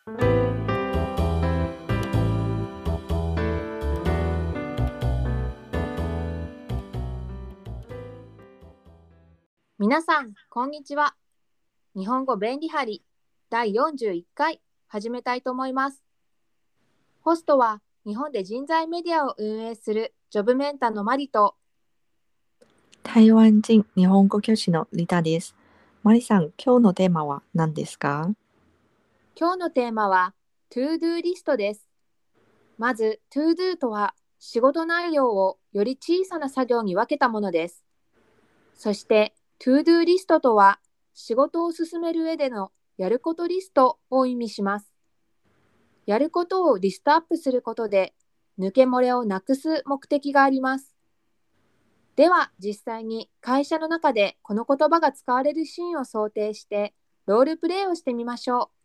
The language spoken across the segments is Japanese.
皆さん、こんにちは。日本語便利貼り第41回始めたいと思います。ホストは日本で人材メディアを運営するジョブメンタのマリと台湾人日本語教師のリタです。マリさん、今日のテーマは何ですか？ 今日のテーマは To Do リストです。まず To Do とは仕事内容をより小さな作業に分けたものです。そして To Do リストとは仕事を進める上でのやることリストを意味します。やることをリストアップすることで抜け漏れをなくす目的があります。では実際に会社の中でこの言葉が使われるシーンを想定してロールプレイをしてみましょう。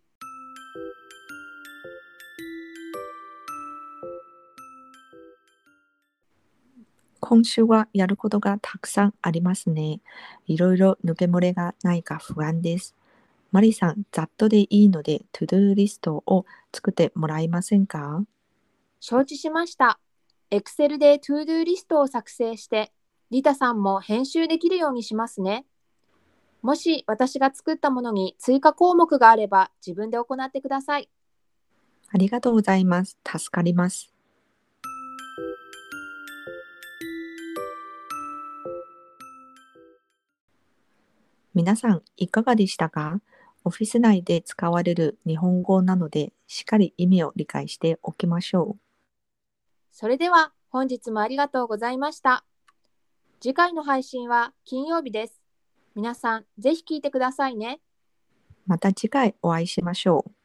今週はやることがたくさんありますね。いろいろ抜け漏れがないか不安です。マリさん、ざっとでいいので、トゥドゥリストを作ってもらえませんか？ 承知しました。Excel で To Do リストを作成してリタさんも編集できるようにしますね。もし私が作ったものに追加項目があれば自分で行ってください。 ありがとうございます。助かります。皆さん、いかがでしたか？オフィス内で使われる日本語なので、しっかり意味を理解しておきましょう。 それでは本日もありがとうございました。次回の配信は金曜日です。皆さんぜひ聞いてくださいね。 また次回お会いしましょう。